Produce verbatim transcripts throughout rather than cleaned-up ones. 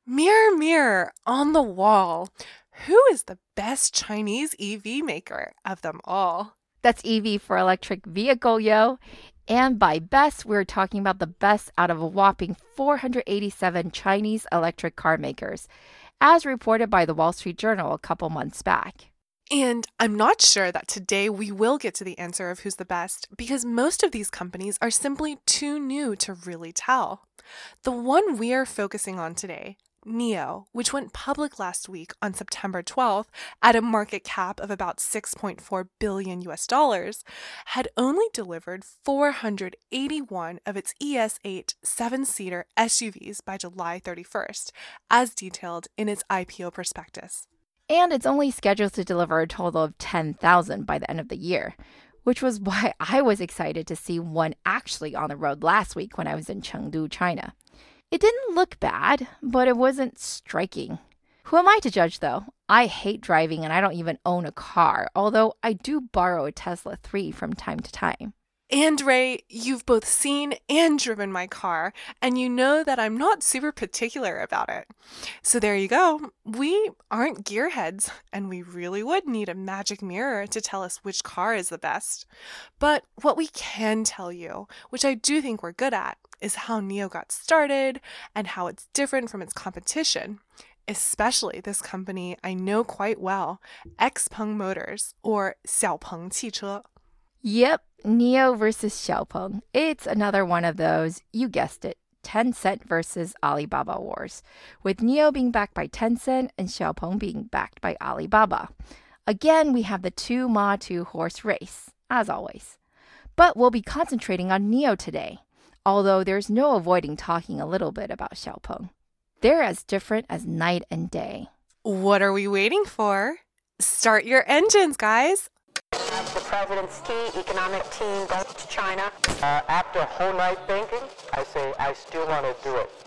Mirror, mirror on the wall, who is the best Chinese E V maker of them all? That's E V for electric vehicle, yo. And by best, we're talking about the best out of a whopping four hundred eighty-seven Chinese electric car makers, as reported by the Wall Street Journal a couple months back. And I'm not sure that today we will get to the answer of who's the best because most of these companies are simply too new to really tell. The one we are focusing on today, NIO, which went public last week on September twelfth at a market cap of about six point four billion U S dollars, had only delivered four hundred eighty-one of its E S eight seven-seater S U Vs by July thirty-first, as detailed in its I P O prospectus. And it's only scheduled to deliver a total of ten thousand by the end of the year, which was why I was excited to see one actually on the road last week when I was in Chengdu, China. It didn't look bad, but it wasn't striking. Who am I to judge, though? I hate driving and I don't even own a car, although I do borrow a Tesla three from time to time. And Ray, you've both seen and driven my car, and you know that I'm not super particular about it. So there you go. We aren't gearheads, and we really would need a magic mirror to tell us which car is the best. But what we can tell you, which I do think we're good at, is how NIO got started and how it's different from its competition, especially this company I know quite well, Xpeng Motors, or Xiaopeng 汽车. Yep, NIO versus Xiaopeng. It's another one of those, you guessed it, Tencent versus Alibaba wars, with NIO being backed by Tencent and Xiaopeng being backed by Alibaba. Again, we have the two Ma two horse race, as always. But we'll be concentrating on NIO today, although there's no avoiding talking a little bit about Xiaopeng. They're as different as night and day. What are we waiting for? Start your engines, guys! The president's key economic team goes to China. Uh, after a whole night thinking, I say I still want to do it.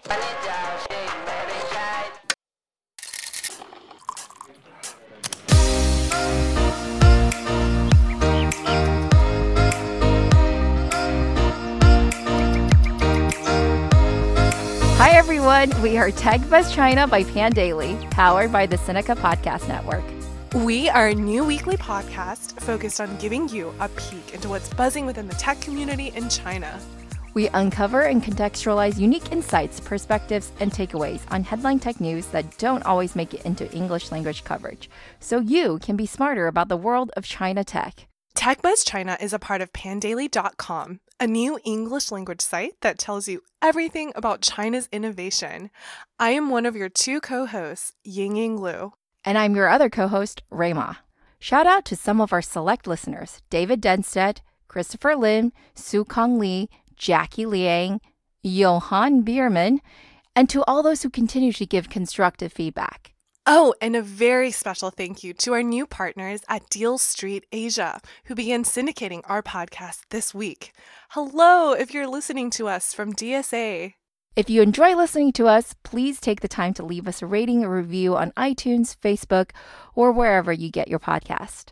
Hi everyone, we are Tech Buzz China by Pandaily, powered by the Sinica Podcast Network. We are a new weekly podcast focused on giving you a peek into what's buzzing within the tech community in China. We uncover and contextualize unique insights, perspectives, and takeaways on headline tech news that don't always make it into English language coverage, so you can be smarter about the world of China tech. Tech Buzz China is a part of pandaily dot com, a new English language site that tells you everything about China's innovation. I am one of your two co-hosts, Yingying Lu. And I'm your other co-host, Ray Ma. Shout out to some of our select listeners, David Denstedt, Christopher Lim, Su Kong Lee, Jackie Liang, Johan Bierman, and to all those who continue to give constructive feedback. Oh, and a very special thank you to our new partners at Deal Street Asia, who began syndicating our podcast this week. Hello, if you're listening to us from D S A. If you enjoy listening to us, please take the time to leave us a rating or review on iTunes, Facebook, or wherever you get your podcast.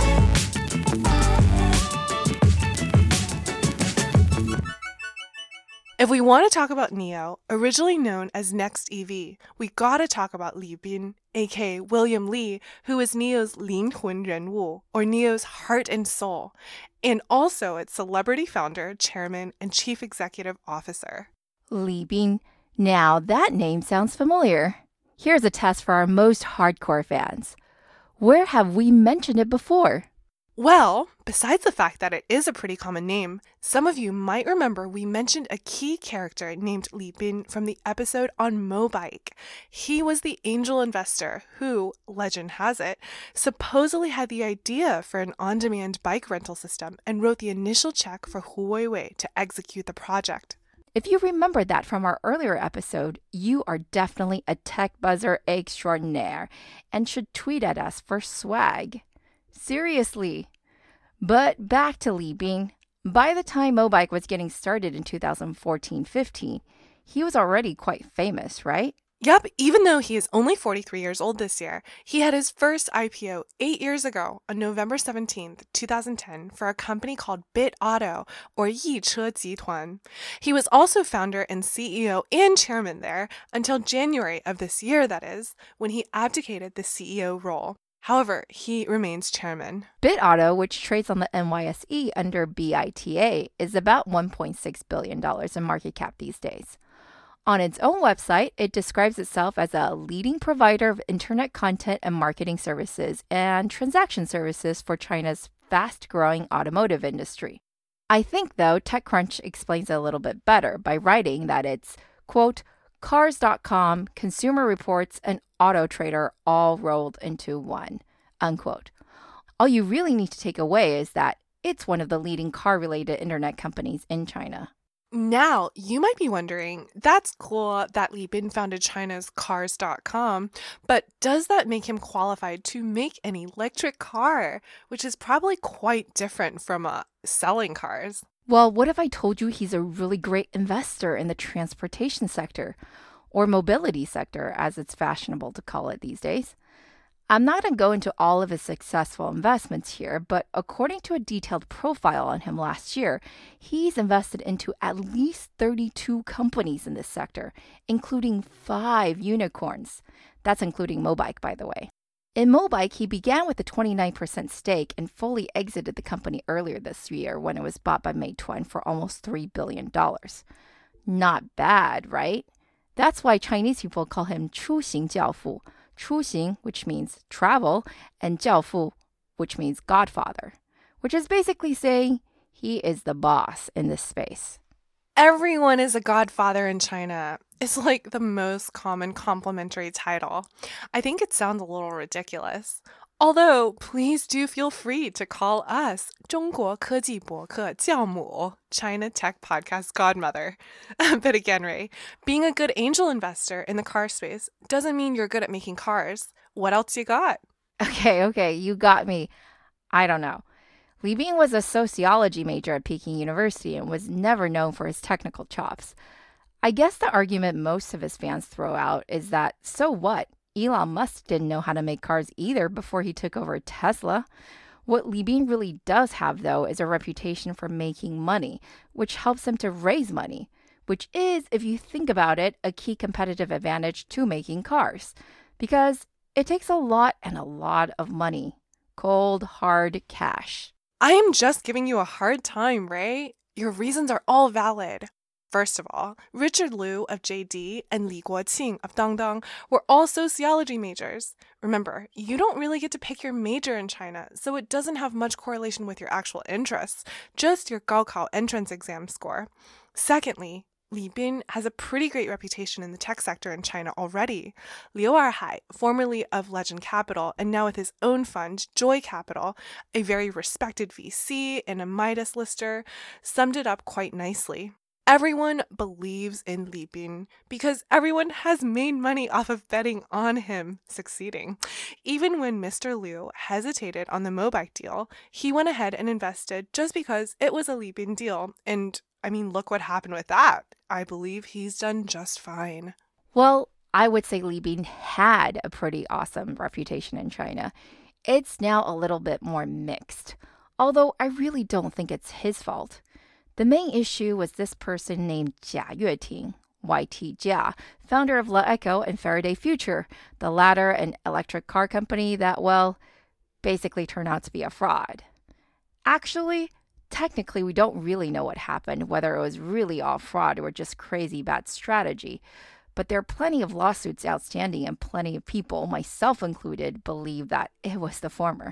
If we want to talk about NIO, originally known as Next E V, we gotta talk about Li Bin, aka William Li, who is NIO's 灵魂人物, or NIO's heart and soul, and also its celebrity founder, chairman, and chief executive officer. Li Bin. Now that name sounds familiar. Here's a test for our most hardcore fans. Where have we mentioned it before? Well, besides the fact that it is a pretty common name, some of you might remember we mentioned a key character named Li Bin from the episode on Mobike. He was the angel investor who, legend has it, supposedly had the idea for an on-demand bike rental system and wrote the initial check for Hu Weiwei to execute the project. If you remember that from our earlier episode, you are definitely a tech buzzer extraordinaire and should tweet at us for swag. Seriously. But back to Li Bin. By the time Mobike was getting started in two thousand fourteen fifteen, he was already quite famous, right? Yep, even though he is only forty-three years old this year, he had his first I P O eight years ago on November seventeenth, twenty ten, for a company called Bit Auto, or Yiche Jituan. He was also founder and C E O and chairman there until January of this year, that is, when he abdicated the C E O role. However, he remains chairman. BitAuto, which trades on the N Y S E under B I T A, is about one point six billion dollars in market cap these days. On its own website, it describes itself as a leading provider of internet content and marketing services and transaction services for China's fast-growing automotive industry. I think, though, TechCrunch explains it a little bit better by writing that it's, quote, Cars dot com, Consumer Reports, and Auto Trader all rolled into one, unquote. All you really need to take away is that it's one of the leading car-related internet companies in China. Now, you might be wondering, that's cool that Li Bin founded China's Cars dot com, but does that make him qualified to make an electric car, which is probably quite different from uh, selling cars? Well, what if I told you he's a really great investor in the transportation sector, or mobility sector, as it's fashionable to call it these days? I'm not going to go into all of his successful investments here, but according to a detailed profile on him last year, he's invested into at least thirty-two companies in this sector, including five unicorns. That's including Mobike, by the way. In Mobike, he began with a twenty-nine percent stake and fully exited the company earlier this year when it was bought by Meituan for almost three billion dollars. Not bad, right? That's why Chinese people call him 出行教父. 出行, which means travel, and 教父, which means godfather, which is basically saying he is the boss in this space. Everyone is a godfather in China. It's like the most common complimentary title. I think it sounds a little ridiculous. Although, please do feel free to call us 中国科技博客教母, China Tech Podcast Godmother. But again, Ray, being a good angel investor in the car space doesn't mean you're good at making cars. What else you got? Okay, okay, you got me. I don't know. Li Bin was a sociology major at Peking University and was never known for his technical chops. I guess the argument most of his fans throw out is that, so what? Elon Musk didn't know how to make cars either before he took over Tesla. What Li Bin really does have, though, is a reputation for making money, which helps him to raise money, which is, if you think about it, a key competitive advantage to making cars, because it takes a lot and a lot of money. Cold, hard cash. I am just giving you a hard time, Ray. Your reasons are all valid. First of all, Richard Liu of J D and Li Guoqing of Dangdang were all sociology majors. Remember, you don't really get to pick your major in China, so it doesn't have much correlation with your actual interests, just your Gaokao entrance exam score. Secondly, Li Bin has a pretty great reputation in the tech sector in China already. Liu Erhai, formerly of Legend Capital and now with his own fund, Joy Capital, a very respected V C and a Midas lister, summed it up quite nicely. Everyone believes in Li Bin because everyone has made money off of betting on him succeeding. Even when Mister Liu hesitated on the Mobike deal, he went ahead and invested just because it was a Li Bin deal. And I mean, look what happened with that. I believe he's done just fine. Well, I would say Li Bin had a pretty awesome reputation in China. It's now a little bit more mixed, although I really don't think it's his fault. The main issue was this person named Jia Yueting, Y T Jia, founder of LeEco and Faraday Future, the latter an electric car company that, well, basically turned out to be a fraud. Actually, technically, we don't really know what happened, whether it was really all fraud or just crazy bad strategy. But there are plenty of lawsuits outstanding and plenty of people, myself included, believe that it was the former.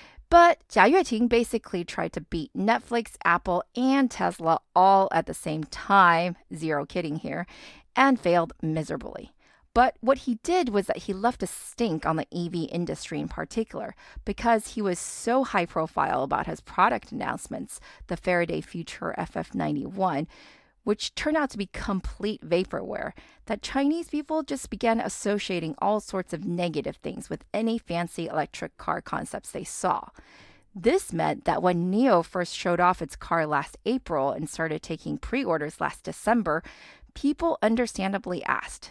But Jia Yueting basically tried to beat Netflix, Apple, and Tesla all at the same time, zero kidding here, and failed miserably. But what he did was that he left a stink on the E V industry in particular because he was so high profile about his product announcements, the Faraday Future F F ninety-one, which turned out to be complete vaporware, that Chinese people just began associating all sorts of negative things with any fancy electric car concepts they saw. This meant that when N I O first showed off its car last April and started taking pre-orders last December, people understandably asked,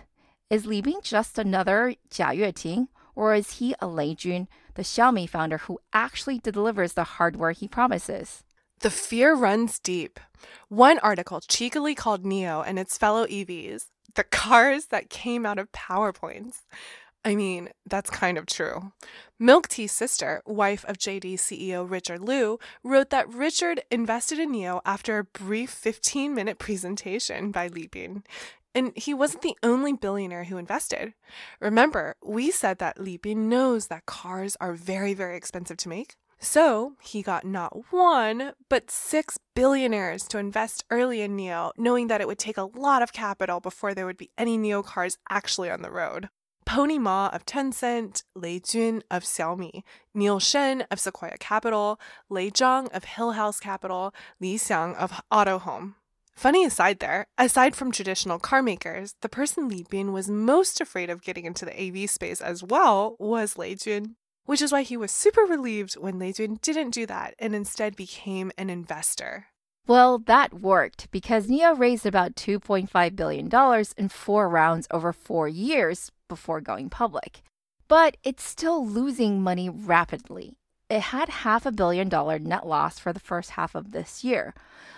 Is Li Bin just another Jia Yueting, or is he a Lei Jun, the Xiaomi founder who actually delivers the hardware he promises? The fear runs deep. One article cheekily called NIO and its fellow E Vs the cars that came out of PowerPoints. I mean, that's kind of true. Milk Tea's sister, wife of J D C E O Richard Liu, wrote that Richard invested in NIO after a brief fifteen-minute presentation by Li Bin. And he wasn't the only billionaire who invested. Remember, we said that Li Bin knows that cars are very, very expensive to make. So he got not one, but six billionaires to invest early in NIO, knowing that it would take a lot of capital before there would be any NIO cars actually on the road. Pony Ma of Tencent, Lei Jun of Xiaomi, Neil Shen of Sequoia Capital, Lei Zhang of Hill House Capital, Li Xiang of Autohome. Funny aside there, aside from traditional car makers, the person Li Bin was most afraid of getting into the A V space as well was Lei Jun, which is why he was super relieved when Lei Jun didn't do that and instead became an investor. Well, that worked because NIO raised about two point five billion dollars in four rounds over four years before going public. But it's still losing money rapidly. It had half a billion dollar net loss for the first half of this year,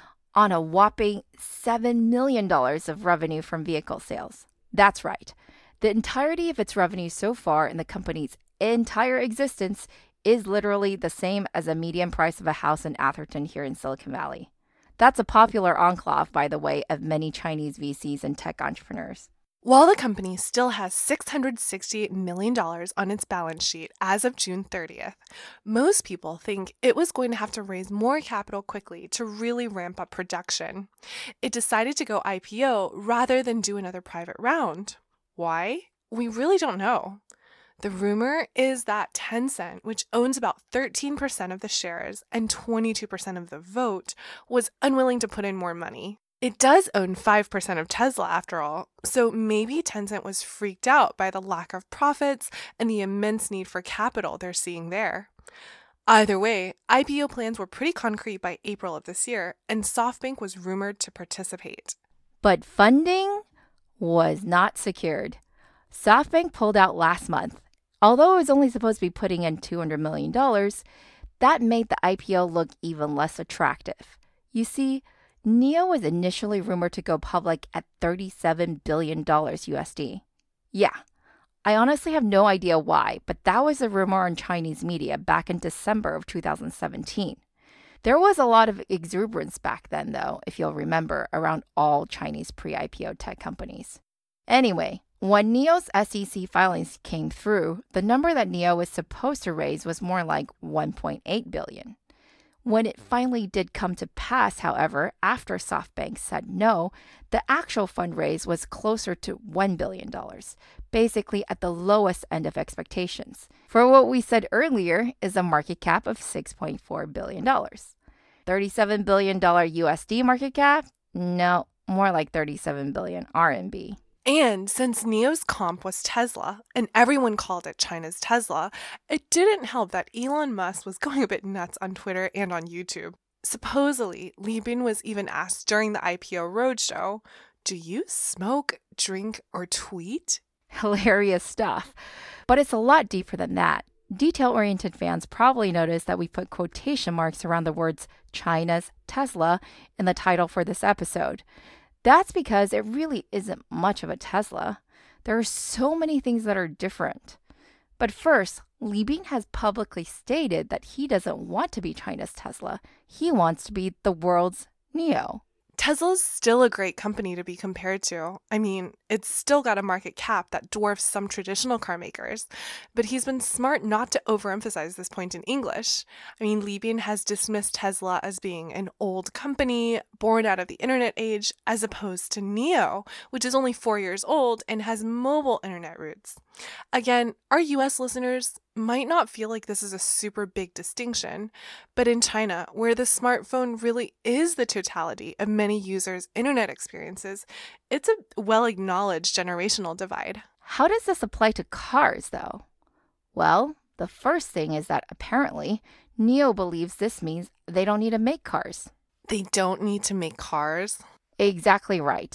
on a whopping seven million dollars of revenue from vehicle sales. That's right. The entirety of its revenue so far in the company's entire existence is literally the same as a median price of a house in Atherton here in Silicon Valley. That's a popular enclave, by the way, of many Chinese V Cs and tech entrepreneurs. While the company still has six hundred sixty-eight million dollars on its balance sheet as of June thirtieth, most people think it was going to have to raise more capital quickly to really ramp up production. It decided to go I P O rather than do another private round. Why? We really don't know. The rumor is that Tencent, which owns about thirteen percent of the shares and twenty-two percent of the vote, was unwilling to put in more money. It does own five percent of Tesla after all, so maybe Tencent was freaked out by the lack of profits and the immense need for capital they're seeing there. Either way, I P O plans were pretty concrete by April of this year, and SoftBank was rumored to participate. But funding was not secured. SoftBank pulled out last month. Although it was only supposed to be putting in two hundred million dollars, that made the I P O look even less attractive. You see, NIO was initially rumored to go public at thirty-seven billion dollars U S D. Yeah, I honestly have no idea why, but that was a rumor on Chinese media back in December of two thousand seventeen. There was a lot of exuberance back then, though, if you'll remember, around all Chinese pre-I P O tech companies. Anyway, when NIO's S E C filings came through, the number that NIO was supposed to raise was more like one point eight billion dollars. When it finally did come to pass, however, after SoftBank said no, the actual fundraise was closer to one billion dollars, basically at the lowest end of expectations, for what we said earlier is a market cap of six point four billion dollars. thirty-seven billion dollars U S D market cap? No, more like thirty-seven billion R M B. And since NIO's comp was Tesla, and everyone called it China's Tesla, it didn't help that Elon Musk was going a bit nuts on Twitter and on YouTube. Supposedly, Li Bin was even asked during the I P O roadshow, "Do you smoke, drink, or tweet?" Hilarious stuff. But it's a lot deeper than that. Detail-oriented fans probably noticed that we put quotation marks around the words China's Tesla in the title for this episode. That's because it really isn't much of a Tesla. There are so many things that are different. But first, Li Bin has publicly stated that he doesn't want to be China's Tesla. He wants to be the world's NIO. Tesla's still a great company to be compared to. I mean, it's still got a market cap that dwarfs some traditional car makers, but he's been smart not to overemphasize this point in English. I mean, Li Bin has dismissed Tesla as being an old company, born out of the internet age, as opposed to NIO, which is only four years old and has mobile internet roots. Again, our U S listeners might not feel like this is a super big distinction, but in China, where the smartphone really is the totality of many users' internet experiences, it's a well-acknowledged generational divide. How does this apply to cars, though? Well, the first thing is that apparently, NIO believes this means they don't need to make cars. They don't need to make cars? Exactly right.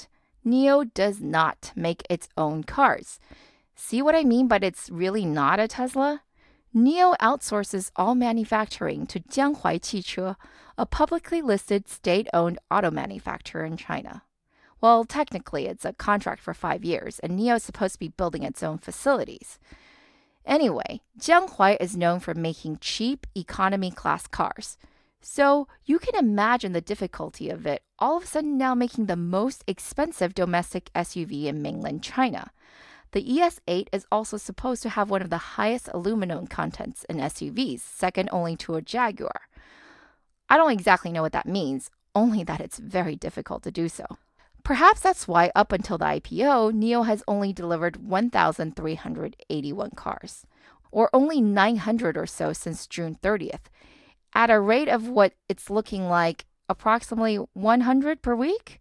Nio does not make its own cars. See what I mean but it's really not a Tesla? Nio outsources all manufacturing to Jianghuai汽车, a publicly listed state-owned auto manufacturer in China. Well, technically, it's a contract for five years, and Nio is supposed to be building its own facilities. Anyway, Jianghuai is known for making cheap economy-class cars. So you can imagine the difficulty of it all of a sudden now making the most expensive domestic S U V in mainland China. The E S eight is also supposed to have one of the highest aluminum contents in S U Vs, second only to a Jaguar. I don't exactly know what that means, only that it's very difficult to do so. Perhaps that's why up until the I P O, Nio has only delivered one thousand three hundred eighty-one cars, or only nine hundred or so since June thirtieth, at a rate of what it's looking like approximately one hundred per week?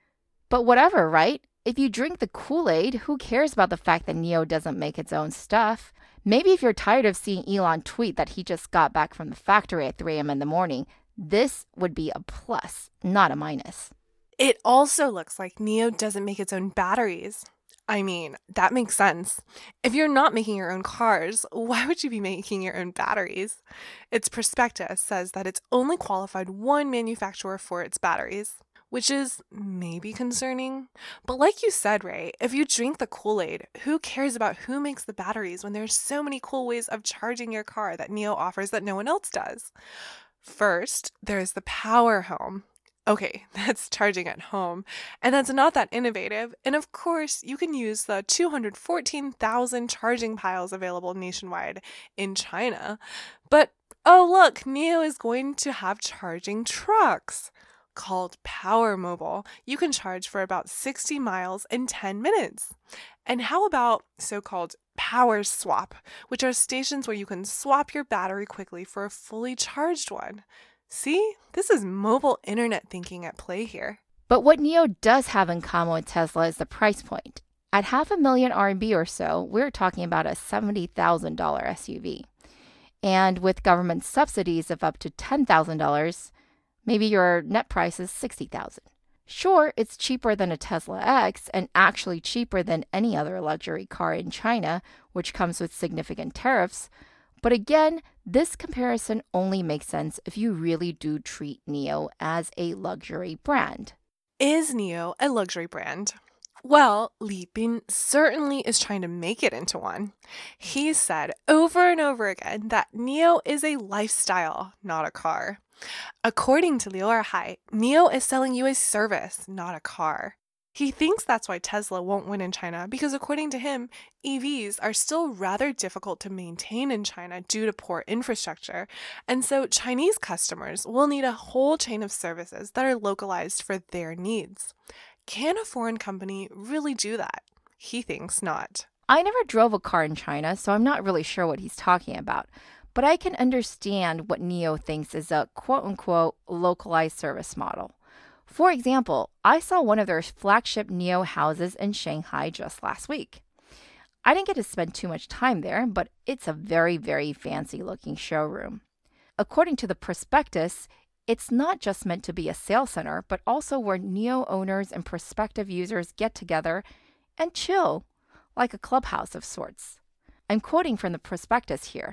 But whatever, right? If you drink the Kool-Aid, who cares about the fact that Nio doesn't make its own stuff? Maybe if you're tired of seeing Elon tweet that he just got back from the factory at three a.m. in the morning, this would be a plus, not a minus. It also looks like Nio doesn't make its own batteries. I mean, that makes sense. If you're not making your own cars, why would you be making your own batteries? Its prospectus says that it's only qualified one manufacturer for its batteries, which is maybe concerning. But like you said, Ray, if you drink the Kool-Aid, who cares about who makes the batteries when there's so many cool ways of charging your car that Nio offers that no one else does? First, there's the Power Home. Okay, that's charging at home, and that's not that innovative. And of course, you can use the two hundred fourteen thousand charging piles available nationwide in China. But oh look, Nio is going to have charging trucks called Power Mobile. You can charge for about sixty miles in ten minutes. And how about so-called Power Swap, which are stations where you can swap your battery quickly for a fully charged one? See, this is mobile internet thinking at play here. But what Nio does have in common with Tesla is the price point. At half a million R M B or so, we're talking about a seventy thousand dollars S U V. And with government subsidies of up to ten thousand dollars, maybe your net price is sixty thousand dollars. Sure, it's cheaper than a Tesla X and actually cheaper than any other luxury car in China, which comes with significant tariffs. But again, this comparison only makes sense if you really do treat Nio as a luxury brand. Is Nio a luxury brand? Well, Li Bin certainly is trying to make it into one. He said over and over again that Nio is a lifestyle, not a car. According to Liu Erhai, Nio is selling you a service, not a car. He thinks that's why Tesla won't win in China because, according to him, E Vs are still rather difficult to maintain in China due to poor infrastructure, and so Chinese customers will need a whole chain of services that are localized for their needs. Can a foreign company really do that? He thinks not. I never drove a car in China, so I'm not really sure what he's talking about. But I can understand what Nio thinks is a quote-unquote localized service model. For example, I saw one of their flagship Nio houses in Shanghai just last week. I didn't get to spend too much time there, but it's a very, very fancy-looking showroom. According to the prospectus, it's not just meant to be a sales center, but also where Nio owners and prospective users get together and chill, like a clubhouse of sorts. I'm quoting from the prospectus here.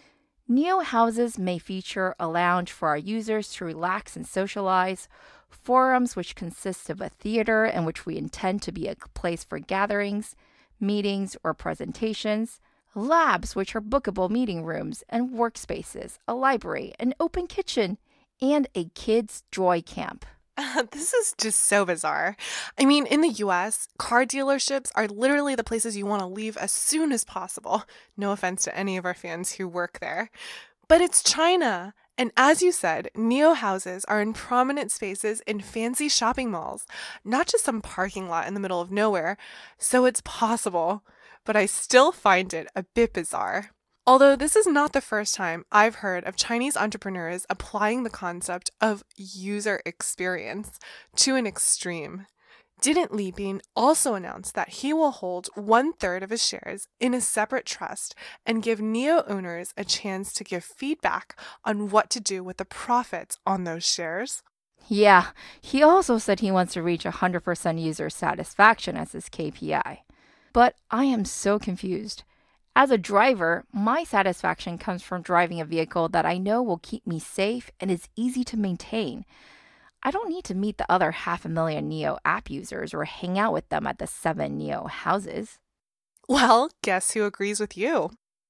Nio houses may feature a lounge for our users to relax and socialize, forums which consist of a theater in which we intend to be a place for gatherings, meetings, or presentations, labs which are bookable meeting rooms and workspaces, a library, an open kitchen, and a kids' joy camp. Uh, this is just so bizarre. I mean, in the U S, car dealerships are literally the places you want to leave as soon as possible. No offense to any of our fans who work there. But it's China. And as you said, Nio houses are in prominent spaces in fancy shopping malls, not just some parking lot in the middle of nowhere. So it's possible. But I still find it a bit bizarre. Although this is not the first time I've heard of Chinese entrepreneurs applying the concept of user experience to an extreme. Didn't Li Bin also announce that he will hold one-third of his shares in a separate trust and give Nio owners a chance to give feedback on what to do with the profits on those shares? Yeah, he also said he wants to reach one hundred percent user satisfaction as his K P I. But I am so confused. As a driver, my satisfaction comes from driving a vehicle that I know will keep me safe and is easy to maintain. I don't need to meet the other half a million Neo app users or hang out with them at the seven Neo houses. Well, guess who agrees with you?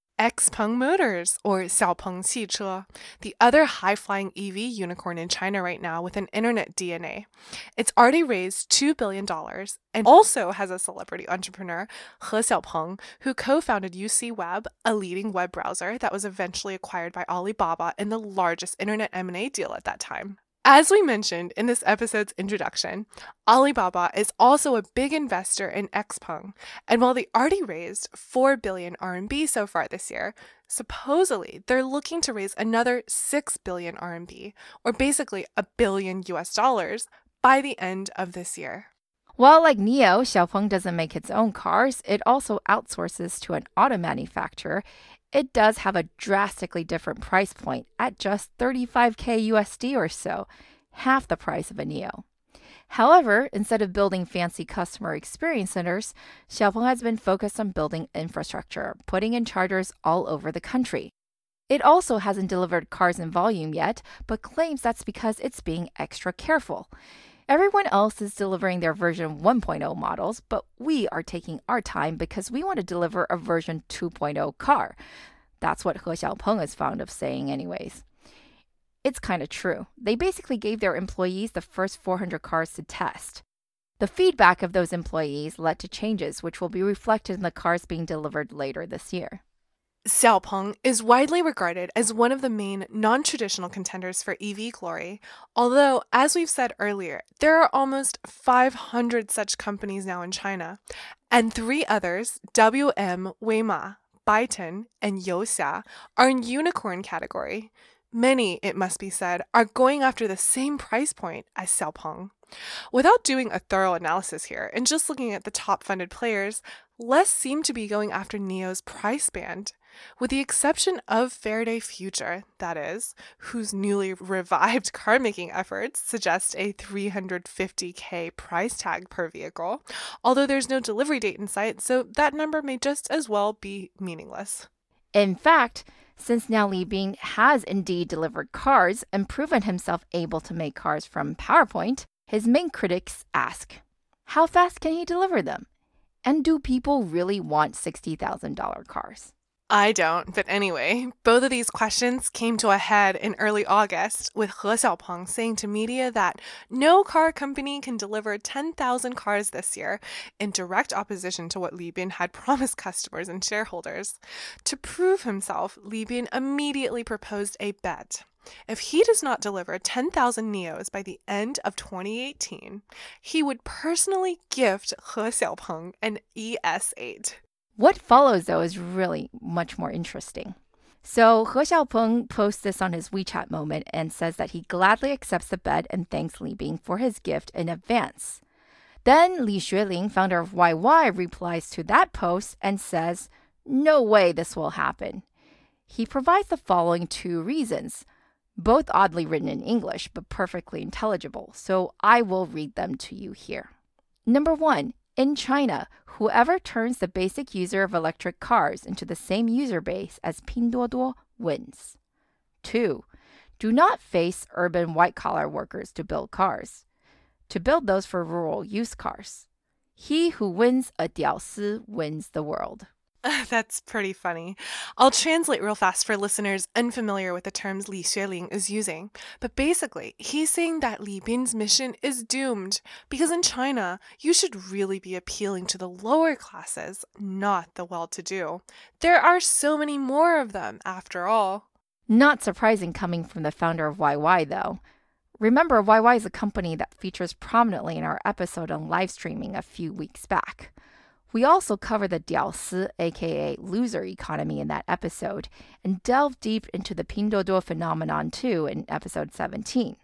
Xpeng Motors, or Xiaopeng汽车, the other high-flying E V unicorn in China right now with an internet D N A. It's already raised two billion dollars and also has a celebrity entrepreneur, He Xiaopeng, who co-founded U C Web, a leading web browser that was eventually acquired by Alibaba in the largest internet M and A deal at that time. As we mentioned in this episode's introduction, Alibaba is also a big investor in Xpeng, and while they already raised four billion R M B so far this year, supposedly they're looking to raise another six billion R M B, or basically a billion U S dollars, by the end of this year. Well, like Neo, Xiaopeng doesn't make its own cars. It also outsources to an auto manufacturer. It does have a drastically different price point at just thirty-five K U S D or so, half the price of a Neo. However, instead of building fancy customer experience centers, Xiaopeng has been focused on building infrastructure, putting in chargers all over the country. It also hasn't delivered cars in volume yet, but claims that's because it's being extra careful. Everyone else is delivering their version one point oh models, but we are taking our time because we want to deliver a version two point oh car. That's what He Xiaopeng is fond of saying anyways. It's kind of true. They basically gave their employees the first four hundred cars to test. The feedback of those employees led to changes which will be reflected in the cars being delivered later this year. Xiaopeng is widely regarded as one of the main non-traditional contenders for E V glory, although, as we've said earlier, there are almost five hundred such companies now in China, and three others, W M, Weima, Byton, and Youxia, are in unicorn category. Many, it must be said, are going after the same price point as Xiaopeng. Without doing a thorough analysis here and just looking at the top funded players, less seem to be going after Neo's price band. With the exception of Faraday Future, that is, whose newly revived car-making efforts suggest a three hundred fifty K price tag per vehicle, although there's no delivery date in sight, so that number may just as well be meaningless. In fact, since now Li Bin has indeed delivered cars and proven himself able to make cars from PowerPoint, his main critics ask, how fast can he deliver them? And do people really want sixty thousand dollars cars? I don't, but anyway, both of these questions came to a head in early August with He Xiaopeng saying to media that no car company can deliver ten thousand cars this year, in direct opposition to what Li Bin had promised customers and shareholders. To prove himself, Li Bin immediately proposed a bet. If he does not deliver ten thousand Neos by the end of twenty eighteen, he would personally gift He Xiaopeng an E S eight. What follows, though, is really much more interesting. So He Xiaopeng posts this on his WeChat moment and says that he gladly accepts the bet and thanks Li Bin for his gift in advance. Then Li Xueling, founder of Y Y, replies to that post and says, no way this will happen. He provides the following two reasons, both oddly written in English but perfectly intelligible, so I will read them to you here. Number one, in China, whoever turns the basic user of electric cars into the same user base as Pinduoduo wins. Two, do not face urban white-collar workers to build cars. To build those for rural use cars. He who wins a diaosi wins the world. That's pretty funny. I'll translate real fast for listeners unfamiliar with the terms Li Xueling is using. But basically, he's saying that Li Bin's mission is doomed because in China, you should really be appealing to the lower classes, not the well-to-do. There are so many more of them, after all. Not surprising coming from the founder of Y Y, though. Remember, Y Y is a company that features prominently in our episode on live streaming a few weeks back. We also cover the diaosi, aka loser economy, in that episode, and delve deep into the Pinduoduo phenomenon too in episode seventeen.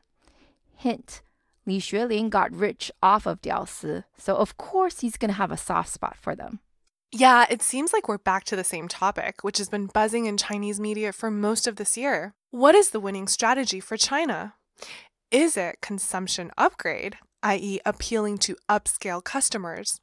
Hint, Li Xueling got rich off of diaosi, so of course he's going to have a soft spot for them. Yeah, it seems like we're back to the same topic, which has been buzzing in Chinese media for most of this year. What is the winning strategy for China? Is it consumption upgrade, that is appealing to upscale customers?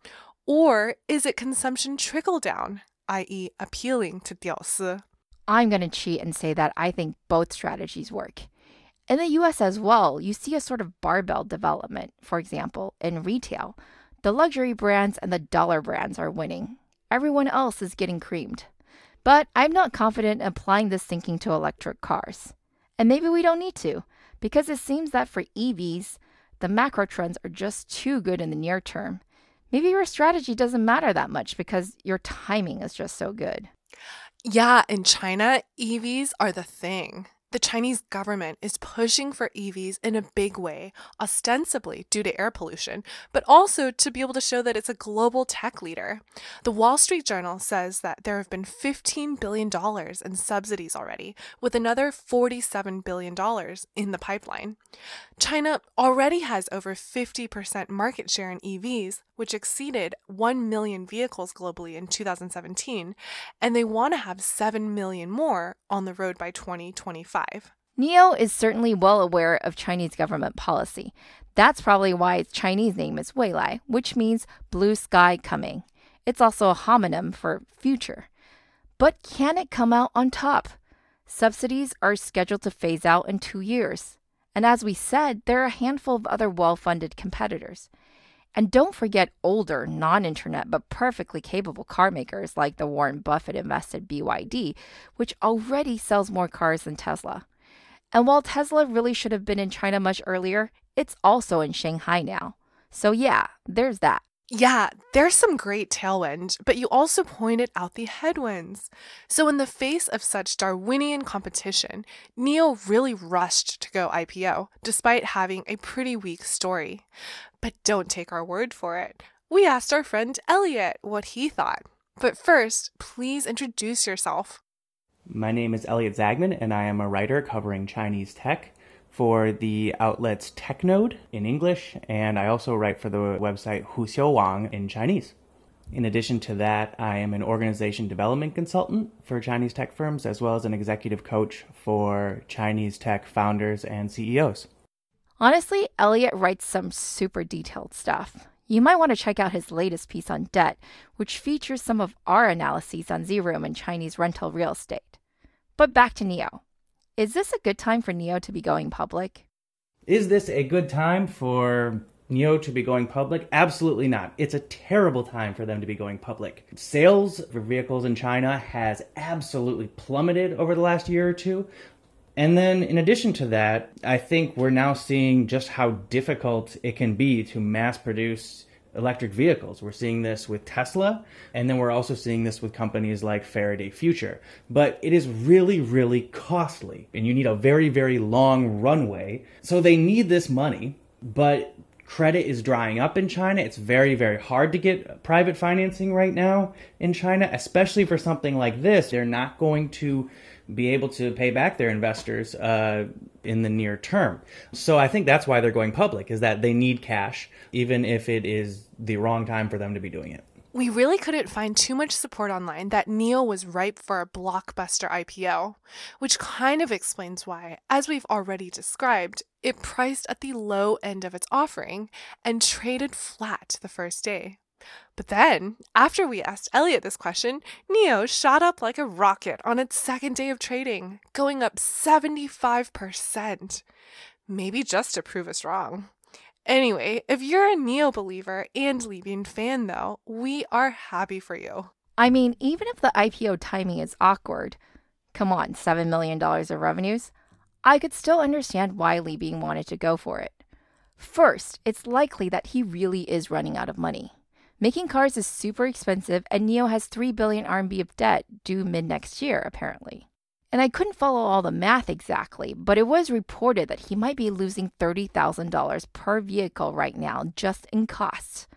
Or is it consumption trickle down, that is appealing to 屌丝? I'm going to cheat and say that I think both strategies work. In the U S as well, you see a sort of barbell development. For example, in retail, the luxury brands and the dollar brands are winning. Everyone else is getting creamed. But I'm not confident in applying this thinking to electric cars. And maybe we don't need to, because it seems that for E Vs, the macro trends are just too good in the near term. Maybe your strategy doesn't matter that much because your timing is just so good. Yeah, in China, E Vs are the thing. The Chinese government is pushing for E Vs in a big way, ostensibly due to air pollution, but also to be able to show that it's a global tech leader. The Wall Street Journal says that there have been fifteen billion dollars in subsidies already, with another forty-seven billion dollars in the pipeline. China already has over fifty percent market share in E Vs, which exceeded one million vehicles globally in two thousand seventeen, and they want to have seven million more on the road by twenty twenty-five. N I O is certainly well aware of Chinese government policy. That's probably why its Chinese name is Weilai, which means blue sky coming. It's also a homonym for future. But can it come out on top? Subsidies are scheduled to phase out in two years. And as we said, there are a handful of other well-funded competitors. And don't forget older, non-internet, but perfectly capable car makers like the Warren Buffett-invested B Y D, which already sells more cars than Tesla. And while Tesla really should have been in China much earlier, it's also in Shanghai now. So yeah, there's that. Yeah, there's some great tailwind, but you also pointed out the headwinds. So in the face of such Darwinian competition, N I O really rushed to go I P O, despite having a pretty weak story. But don't take our word for it. We asked our friend Elliot what he thought. But first, please introduce yourself. My name is Elliot Zagman, and I am a writer covering Chinese tech for the outlets TechNode in English, and I also write for the website Huxiu Wang in Chinese. In addition to that, I am an organization development consultant for Chinese tech firms, as well as an executive coach for Chinese tech founders and C E Os. Honestly, Elliot writes some super detailed stuff. You might want to check out his latest piece on debt, which features some of our analyses on Z-Room and Chinese rental real estate. But back to N I O. Is this a good time for N I O to be going public? Is this a good time for N I O to be going public? Absolutely not. It's a terrible time for them to be going public. Sales for vehicles in China has absolutely plummeted over the last year or two. And then in addition to that, I think we're now seeing just how difficult it can be to mass produce electric vehicles. We're seeing this with Tesla, and then we're also seeing this with companies like Faraday Future. But it is really, really costly, and you need a very, very long runway. So they need this money, but credit is drying up in China. It's very, very hard to get private financing right now in China, especially for something like this. They're not going to be able to pay back their investors uh, in the near term. So I think that's why they're going public, is that they need cash, even if it is the wrong time for them to be doing it. We really couldn't find too much support online that N I O was ripe for a blockbuster I P O, which kind of explains why, as we've already described, it priced at the low end of its offering and traded flat the first day. But then, after we asked Elliot this question, N I O shot up like a rocket on its second day of trading, going up seventy-five percent. Maybe just to prove us wrong. Anyway, if you're a N I O believer and Libyan fan, though, we are happy for you. I mean, even if the I P O timing is awkward, come on, seven million dollars of revenues, I could still understand why Libyan wanted to go for it. First, it's likely that he really is running out of money. Making cars is super expensive, and N I O has three billion R M B of debt due mid-next year, apparently. And I couldn't follow all the math exactly, but it was reported that he might be losing thirty thousand dollars per vehicle right now just in costs.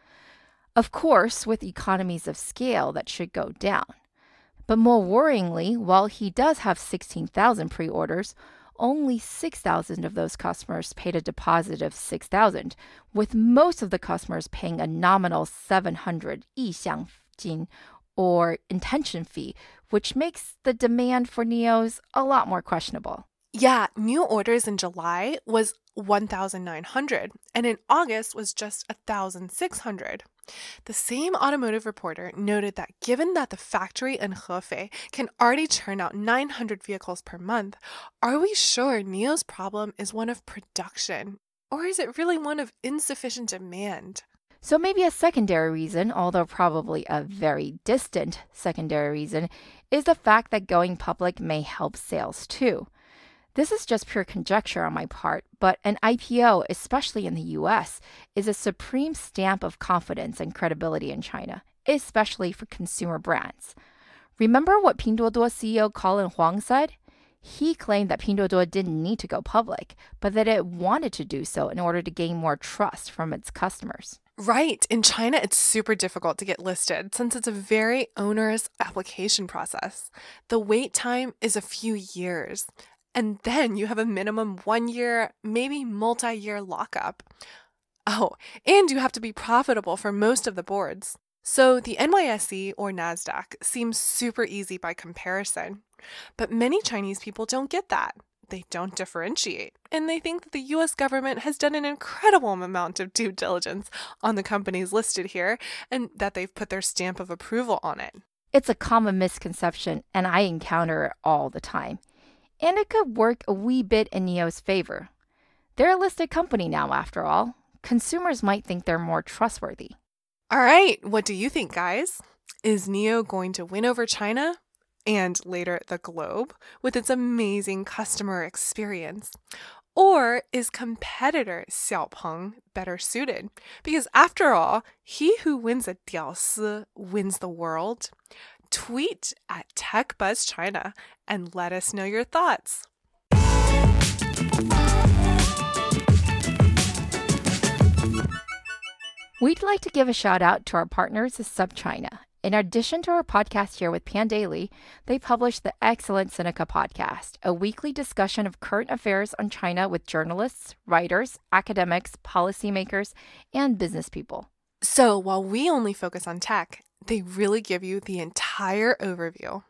Of course, with economies of scale, that should go down. But more worryingly, while he does have sixteen thousand pre-orders, only six thousand of those customers paid a deposit of six thousand, with most of the customers paying a nominal seven hundred 意向金, or intention fee, which makes the demand for N I Os a lot more questionable. Yeah, new orders in July was one thousand nine hundred, and in August was just one thousand six hundred. The same automotive reporter noted that given that the factory in Hefei can already churn out nine hundred vehicles per month, are we sure N I O's problem is one of production? Or is it really one of insufficient demand? So maybe a secondary reason, although probably a very distant secondary reason, is the fact that going public may help sales too. This is just pure conjecture on my part, but an I P O, especially in the U S, is a supreme stamp of confidence and credibility in China, especially for consumer brands. Remember what Pinduoduo C E O Colin Huang said? He claimed that Pinduoduo didn't need to go public, but that it wanted to do so in order to gain more trust from its customers. Right. In China, it's super difficult to get listed since it's a very onerous application process. The wait time is a few years. And then you have a minimum one year, maybe multi-year lockup. Oh, and you have to be profitable for most of the boards. So the N Y S E or NASDAQ seems super easy by comparison. But many Chinese people don't get that. They don't differentiate, and they think that the U S government has done an incredible amount of due diligence on the companies listed here and that they've put their stamp of approval on it. It's a common misconception, and I encounter it all the time. And it could work a wee bit in N I O's favor. They're a listed company now, after all. Consumers might think they're more trustworthy. All right, what do you think, guys? Is N I O going to win over China? And later the globe with its amazing customer experience? Or is competitor Xiaopeng better suited? Because after all, he who wins a Diaosi wins the world. Tweet at TechBuzzChina and let us know your thoughts. We'd like to give a shout out to our partners at SupChina. In addition to our podcast here with Pandaily, they publish the excellent Sinica podcast, a weekly discussion of current affairs on China with journalists, writers, academics, policymakers, and business people. So while we only focus on tech, they really give you the entire overview.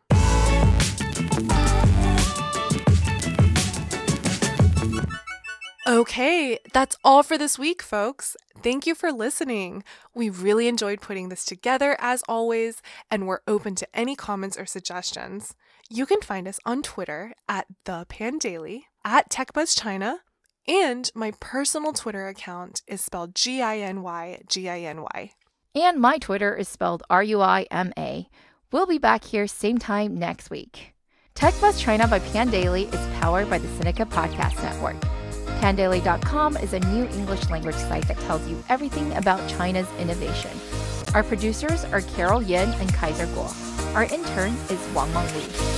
Okay, that's all for this week, folks. Thank you for listening. We really enjoyed putting this together, as always, and we're open to any comments or suggestions. You can find us on Twitter at The Pandaily, at TechBuzzChina, and my personal Twitter account is spelled G I N Y G I N Y. And my Twitter is spelled R U I M A. We'll be back here same time next week. TechBuzzChina by Pandaily is powered by the Sinica Podcast Network. Pandaily dot com is a new English language site that tells you everything about China's innovation. Our producers are Carol Yin and Kaiser Guo. Our intern is Wang Meng Li.